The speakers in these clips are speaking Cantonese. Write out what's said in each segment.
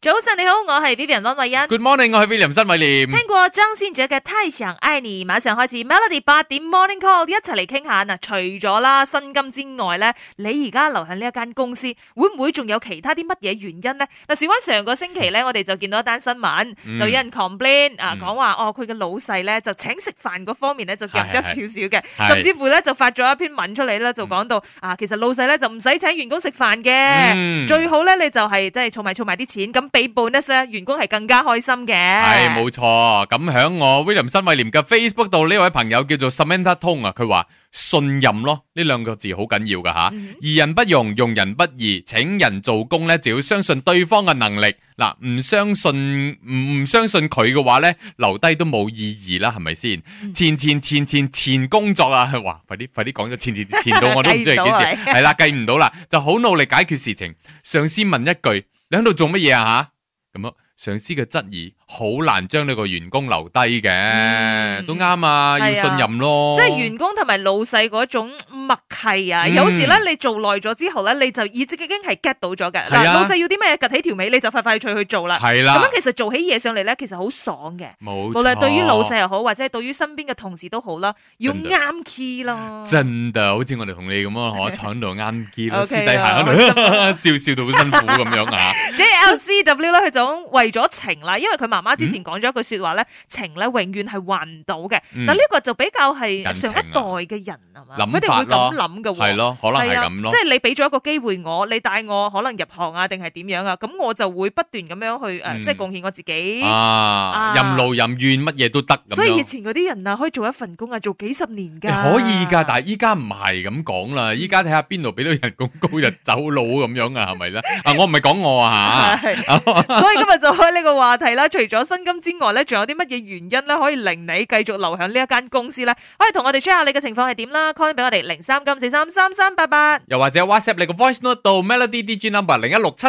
早晨你好，我係 Vivian 溫慧欣。 Good morning， 我係 William 新偉廉。 聽過張信哲嘅《太想愛你》，馬上開始 Melody 8點 Morning Call， 一齊嚟傾下嗱。除咗啦薪金之外咧，你而家留喺呢一間公司，會唔會仲有其他啲乜嘢原因咧？嗱，事關上個星期咧，我哋就見到一單新聞，就有人 complain 講話佢嘅老細咧就請食飯嗰方面咧就夾咗少少嘅，甚至乎咧就發咗一篇文出嚟咧，就講到其實老細咧就唔使請員工食飯嘅，最好咧你就係即係儲埋啲錢，咁俾 bonus 咧，員工係更加開心嘅。 係冇錯，咁響我 William 新偉廉嘅 Facebook 度呢位朋友叫做 Samantha 通啊，佢話信任咯，呢兩個字好緊要噶吓，疑人不用，用人不疑，請人做工咧就要相信對方嘅能力。嗱，唔相信佢嘅話咧，留低都冇意義啦，係咪先？前工作啊，哇！快啲講咗前到我都唔知係幾時，係啦，計唔到啦，就好努力解決事情。上司問一句：你喺度做乜嘢啊？吓，咁樣。上司嘅質疑好難將呢個員工留低嘅，都啱啊，要信任咯。 即係員工同埋老細嗰種默契啊，有時咧你做耐咗之後咧，你就已經係 get 到咗嘅。嗱，老細要啲咩趷起條尾，你就快脆去做啦。係啦，咁樣其實做起嘢上嚟咧，其實好爽嘅。冇錯，無論對於老細又好，或者係對於身邊嘅同事都好啦，要啱 key 咯。 真㗎，好似我哋同你咁咯，我坐喺度啱 key 咯，私底下喺度笑到好辛苦咁樣啊。 JLCW 咧，佢就為咗情啦，因為佢媽媽之前講咗一句說話咧，情咧永遠係還唔到嘅。嗱，呢個就比較係上一代嘅人係嘛，佢哋會咁諗嘅喎。係咯，可能係咁咯。即係你俾咗一個機會我，你帶我可能入行啊，定係點樣啊？咁我就會不斷咁樣去即係貢獻我自己。任勞任怨，乜嘢都得。所以以前嗰啲人啊，可以做一份工啊，做幾十年㗎。 可以㗎，但係依家唔係咁講啦。依家睇下邊度俾到人工高就走佬咁樣啊，係咪咧？我唔係講我啊嚇。 所以今日就開呢個話題啦。除咗薪金之外咧，仲有啲乜嘢原因咧，可以令你繼續留喺呢一間公司咧？可以同我哋 share 下你嘅情況係點啦 ，call 俾我哋03金433388， 又或者 WhatsApp 你個 voice note 到 Melody DJ number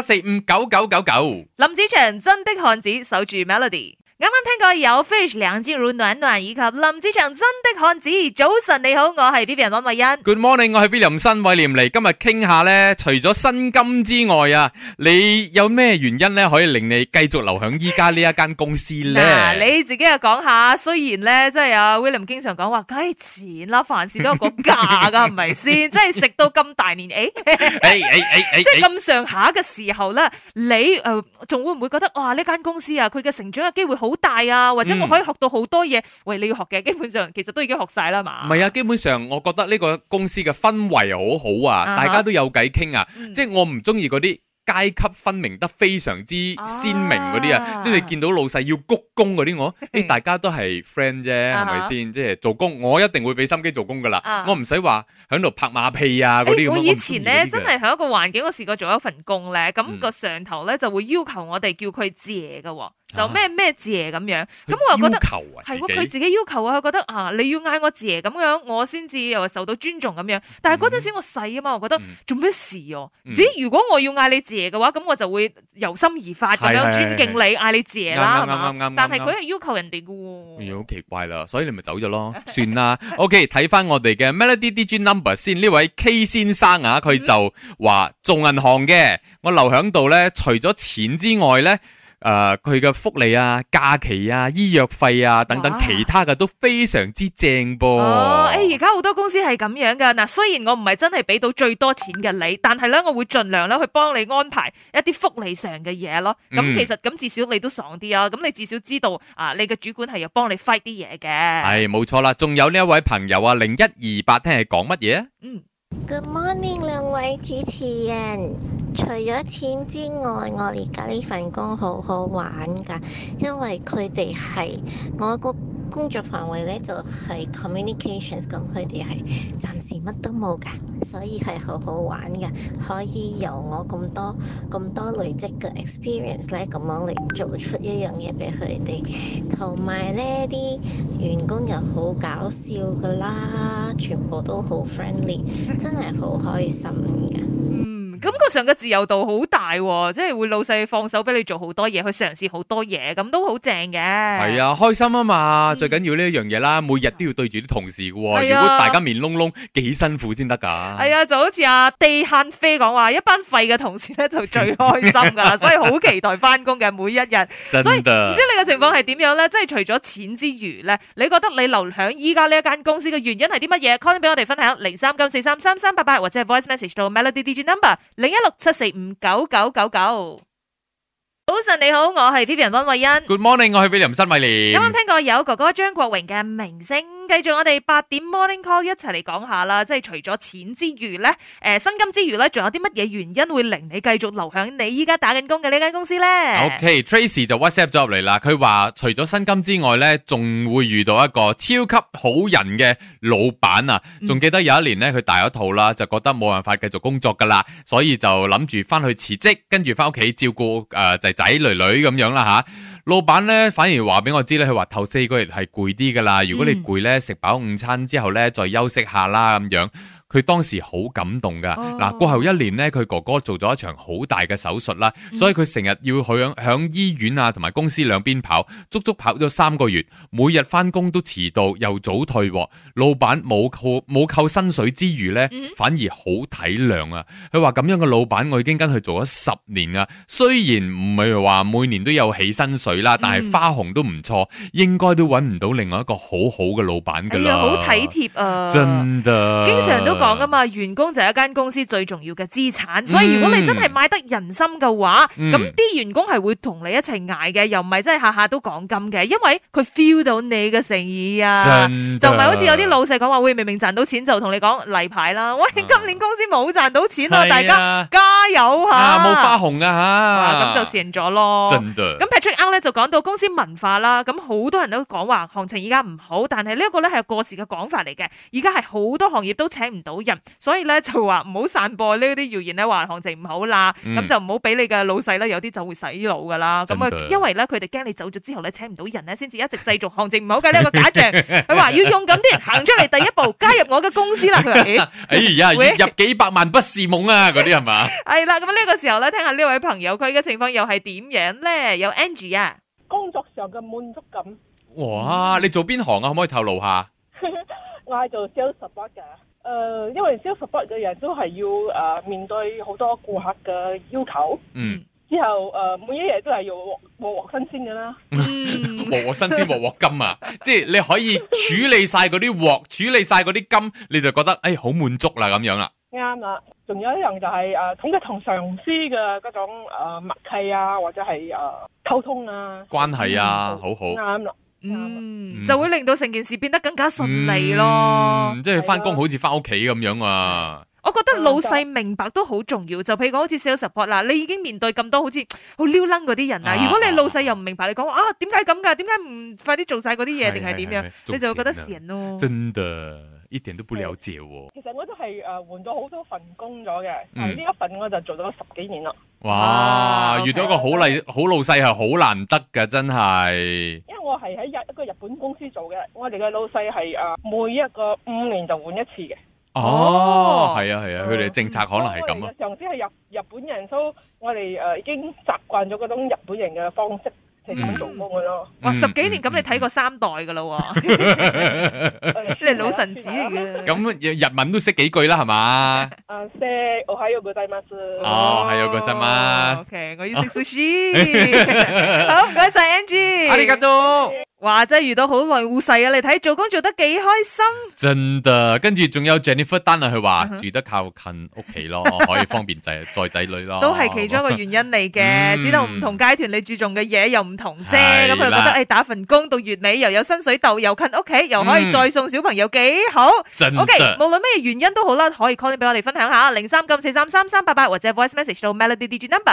0167459999。 林子祥真的漢子守住 Melody。啱啱聽過有 Fish 梁靜茹暖暖以及林子祥真的漢子。早晨你好，我係 Vivian 溫慧欣。 Good morning， 我係 William 新偉廉嚟。今日傾下咧，除咗薪金之外啊，你有咩原因咧可以令你繼續留響依家呢一間公司咧？ 你自己又講下。雖然咧，即係阿 William 經常講話，梗係錢啦，凡事都有個價噶，係咪先？即係食到咁大年，即係咁上下嘅時候咧，你仲會唔會覺得哇呢間公司啊，佢嘅成長嘅機會好大啊，或者我可以學到好多嘢。喂，你要學嘅基本上其實都已經學晒啦嘛。唔係啊，基本上我覺得呢個公司嘅氛圍好好啊，大家都有偈傾啊。即係我唔中意嗰啲階級分明得非常之鮮明嗰啲啊，即係你見到老細要鞠躬嗰啲，大家都係 friend 啫，係咪先？即係做工，我一定會俾心機做工噶啦，我唔使話喺度拍馬屁啊嗰啲咁。我以前咧真係喺一個環境，我試過做一份工咧，咁個上頭咧就會要求我哋叫佢謝噶。就咩謝咁樣，咁我又覺得係喎，佢自己要求啊，佢覺得你要嗌我謝咁樣，我先至又受到尊重咁樣。但係嗰陣時我細啊嘛，我覺得做咩事哦？如果我要嗌你謝嘅話，咁我就會由心而發咁樣尊敬你，嗌你謝啦，係嘛？但係佢係要求人哋嘅喎，好奇怪啦，所以你咪走咗咯，算啦。OK， 睇翻我哋嘅 Melody DJ number 先，呢位 K 先生啊，佢就話做銀行嘅，我留響度咧，除咗錢之外咧。佢嘅福利啊、假期啊、醫藥費啊等等其他嘅都非常之正噃。而家好多公司係咁樣噶。嗱，雖然我唔係真係俾到最多錢嘅你，但係咧我會盡量咧去幫你安排一啲福利上嘅嘢咯。咁其實咁至少你都爽啲啊。咁你至少知道你嘅主管係要幫你 fight 啲嘢嘅。係冇錯啦。仲有呢一位朋友啊，0128聽係講乜嘢啊 ？Good morning， 兩位主持人。除咗錢之外，我而家呢份工好好玩㗎，因為佢哋係我個工作範圍咧就係 communications， 咁佢哋係暫時乜都冇㗎，所以係好好玩㗎，可以由我咁多累積嘅 experience 咧，咁樣嚟做出一樣嘢俾佢哋，同埋咧啲員工又好搞笑㗎啦，全部都好 friendly， 真係好開心㗎。 感覺上嘅自由度好大喎，即係會老細放手俾你做好多嘢，去嘗試好多嘢，咁都好正嘅。 係啊，開心啊嘛，最緊要呢一樣嘢啦，每日都要對住啲同事嘅喎， 係啊如果大家面窿窿，幾辛苦先得㗎。 係啊，就好似阿地慳飛講話，一班廢嘅同事咧就最開心㗎啦，所以好期待翻工嘅每一日。所以唔知你嘅情況係點樣咧？即係除咗錢之餘咧，你覺得你留響依家呢一間公司嘅原因係啲乜嘢？call 俾我哋分享0394333388或者係 voice message 到 Melody DJ number 0167459999。早晨你好，我係 Vivian 溫慧欣。 Good morning，我係 William 新偉廉。 啱啱聽過有哥哥張國榮嘅明星，繼續我哋8點 Morning Call 一齊嚟講下啦。即係除咗錢之餘咧，薪金之餘咧，仲有啲乜嘢原因會令你繼續留響你依家打緊工嘅呢間公司咧 ？OK，Tracy 就 WhatsApp 咗入嚟啦。佢話除咗薪金之外咧，仲會遇到一個超級好人嘅老闆啊！仲記得有一年咧，佢大咗肚啦，就覺得冇辦法繼續工作噶啦，所以就諗住翻去辭職，跟住翻屋企照顧仔女女咁樣啦吓。老闆咧反而話俾我知咧，佢話頭4個月係攰啲噶啦，如果你攰咧，食飽午餐之後咧再休息下啦咁樣。佢當時好感動噶，嗱過後1年咧，佢哥哥做咗一場好大嘅手術啦，所以佢成日要響醫院啊同埋公司兩邊跑，足足跑咗3個月，每日翻工都遲到又早退。老闆冇扣薪水之餘咧，反而好體諒啊！佢話咁樣嘅老闆，我已經跟佢做咗10年啊，雖然唔係話每年都有起薪水啦，但係花紅都唔錯，應該都揾唔到另外一個好好嘅老闆噶啦。 好體貼啊！ 真的， 經常都講噶嘛，員工就係一間公司最重要嘅資產，所以如果你真係買得人心嘅話，咁啲員工係會同你一齊捱嘅，又唔係真係下下都講金嘅，因為佢 feel 到你嘅誠意啊，就唔係好似有啲老細講話，喂，明明賺到錢就同你講例牌啦，喂，今年公司冇賺到錢啊，大家加油吓， 冇花紅啊吓，咁就蝕咗咯。 真的。 咁 Patrick Ang 咧就講到公司文化啦，咁好多人都講話行情而家唔好，但係呢一個咧係過時嘅講法嚟嘅，而家係好多行業都請唔到人，所以咧就話唔好散播呢啲謠言咧，話行情唔好啦，咁就唔好俾你嘅老細咧，有啲就會洗腦噶啦。咁啊，因為咧佢哋驚你走咗之後咧請唔到人咧，先至一直製造行情唔好嘅呢一個假象。佢話要勇敢啲行出嚟第一步，加入我嘅公司啦。佢話哎呀，月入幾百萬不是夢啊，嗰啲係嘛？ 係啦，咁呢個時候咧，聽下呢位朋友佢嘅情況又係點樣咧？有 Angie 啊， 工作上嘅滿足感。 哇，你做邊行啊？可唔可以透露下？ 我係做 sales support 嘅。因為 sales support 嘅人都係要面對好多顧客嘅要求，之後每一日都係要鑊新鮮嘅啦， 鑊新鮮鑊金啊！即係你可以處理晒嗰啲鑊，處理晒嗰啲金，你就覺得好滿足啦咁樣啦。 啱啦，仲有一樣就係同上司嘅嗰種默契啊，或者係溝通啊， 關係啊，好好啱啦。 就會令到成件事變得更加順利咯。 即係翻工好似翻屋企咁樣啊！ 我覺得老細明白都好重要。就譬如講好似 sales support 啦，你已經面對咁多好似好撩楞嗰啲人啊。如果你老細又唔明白，你講話點解咁噶？點解唔快啲做晒嗰啲嘢？定係點樣？你就會覺得閒咯。 真的，一點都不了解喎。 其實我都係換咗好多份工咗嘅，呢一份我就做咗10幾年啦。 哇！遇到一個好老細係好難得噶，真係。 因為我係喺一個日本公司做嘅，我哋嘅老細係每一個5年就換一次嘅。 哦，係啊，佢哋嘅政策可能係咁啊。 上司係日本人，所以我哋已經習慣咗嗰種日本人嘅方式係咁做工嘅咯。 哇，10幾年咁你睇過3代噶啦喎，你係老臣子嚟嘅。 咁日文都識幾句啦，係嘛？ 識おはようございます。 哦，係有個新聞。 OK， 我要食 sushi。好，唔該晒 Angie。 阿里嘎多。 哇！真係遇到好耐老細啊！你睇做工做得幾開心， 真的。跟住仲有 Jennifer Tan 啊，佢話住得靠近屋企咯，可以方便載仔女咯， 都係其中一個原因嚟嘅。知道唔同階段你注重嘅嘢又唔同啫，咁佢覺得打份工到月尾又有薪水竇，又近屋企，又可以再送小朋友，幾好。OK， 無論咩原因都好啦，可以 call 俾我哋分享下0394333388或者 voice message 到 Melody DJ number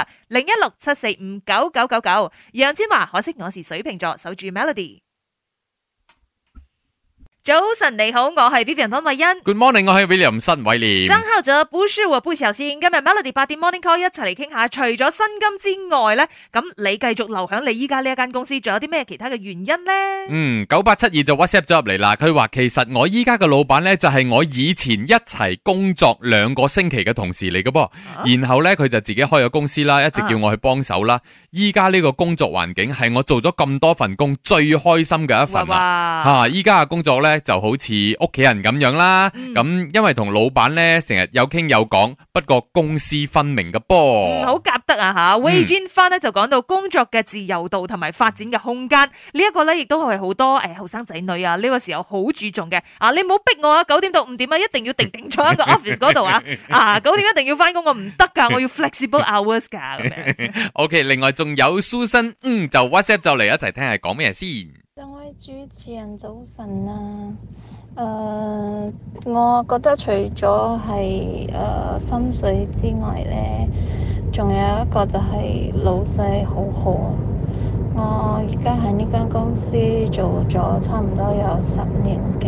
0167459999。楊千嬅，可惜我是水瓶座，守住 Melody。 早晨你好，我係 Vivian 湯慧欣。 Good morning， 我係 William 新偉廉。 張浩哲不是我不小心，今日 Melody 8點 Morning Call 一齊嚟傾下，除咗薪金之外咧，咁你繼續留響你依家呢一間公司，仲有啲咩其他嘅原因咧 ？9872就 WhatsApp 咗入嚟啦，佢話其實我依家嘅老闆咧就係我以前一齊工作2個星期嘅同事嚟嘅噃，然後咧佢就自己開咗公司啦，一直叫我去幫手啦。依家呢個工作環境係我做咗咁多份工最開心嘅一份啦。依家嘅工作咧就好似屋企人咁樣啦。咁因為同老闆咧成日有傾有講，不過公私分明嘅噃。 好夾得啊吓。Wei Jin 翻咧就講到工作嘅自由度同埋發展嘅空間，呢一個咧亦都係好多後生仔女啊呢個時候好注重嘅。你唔好逼我啊，9點到5點啊，一定要定坐喺個 office 嗰度啊。9點一定要翻工，我唔得噶，我要 flexible hours 噶咁樣。 OK， 另外仲有 Susan， 就 WhatsApp 就嚟一齊聽係講咩先。 兩位主持人早晨啊，我覺得除咗係薪水之外呢，仲有一個就係老細好好。我而家喺呢間公司做咗差唔多有10年幾，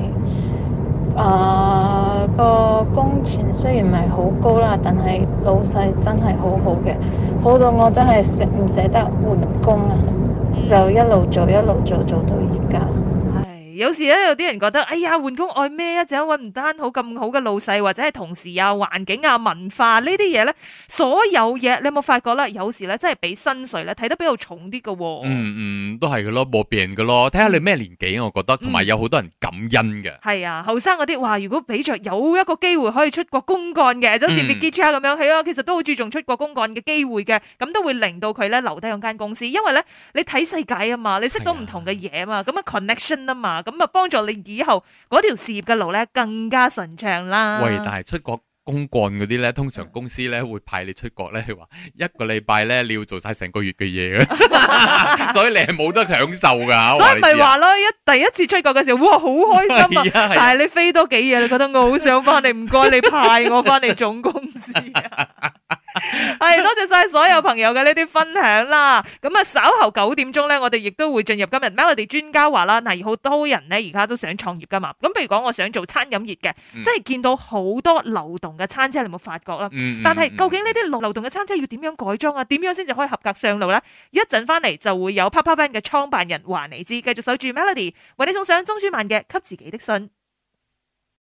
個工錢雖然唔係好高啦，但係老細真係好好嘅，好到我真係唔捨得換工啊，就一路做做到而家。 有時咧，有啲人覺得，哎呀，換工愛咩啊？就揾唔單好咁好嘅老細，或者係同事啊、環境啊、文化呢啲嘢咧，所有嘢你有冇發覺咧？有時咧真係比薪水咧睇得比較重啲嘅喎。 都係嘅咯，冇變嘅咯。睇下你咩年紀，我覺得，同埋有好多人感恩嘅。 係啊，後生嗰啲話，如果俾着有一個機會可以出國公幹嘅，就好似 Vicky Chia 咁樣，係啊，其實都好注重出國公幹嘅機會嘅，咁都會令到佢咧留低嗰間公司，因為咧你睇世界啊嘛，你識到唔同嘅嘢啊嘛，咁啊 connection 啊嘛。咁啊，幫助你以後嗰條事業嘅路咧更加順暢啦。 喂，但係出國公幹嗰啲咧，通常公司咧會派你出國咧，話1個禮拜咧你要做晒成個月嘅嘢嘅，所以你係冇得享受噶。 所以咪話咯，第一次出國嘅時候，哇，好開心啊！但係你飛多幾日，你覺得我好想翻嚟，唔該你派我翻嚟總公司啊！係多謝晒所有朋友嘅呢啲分享啦。咁啊，稍後9點鐘咧，我哋亦都會進入今日 Melody 專家話啦。嗱，好多人咧而家都想創業噶嘛。咁譬如講，我想做餐飲業嘅，即係見到好多流動嘅餐車，你有冇發覺啦？但係究竟呢啲流動嘅餐車要點樣改裝啊？點樣先至可以合格上路咧？一陣翻嚟就會有 Papa Van 嘅創辦人話你知。繼續守住 Melody，為你送上鐘舒漫嘅《給自己的信》。